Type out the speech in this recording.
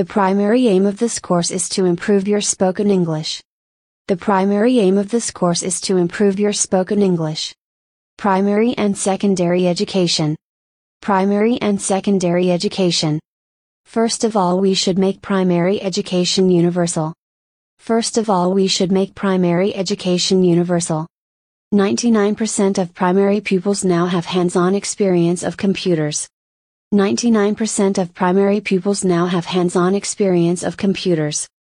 The primary aim of this course is to improve your spoken English. The primary aim of this course is to improve your spoken English. Primary and secondary education. Primary and secondary education. First of all, we should make primary education universal. First of all, we should make primary education universal. 99% of primary pupils now have hands-on experience of computers. 99% of primary pupils now have hands-on experience of computers.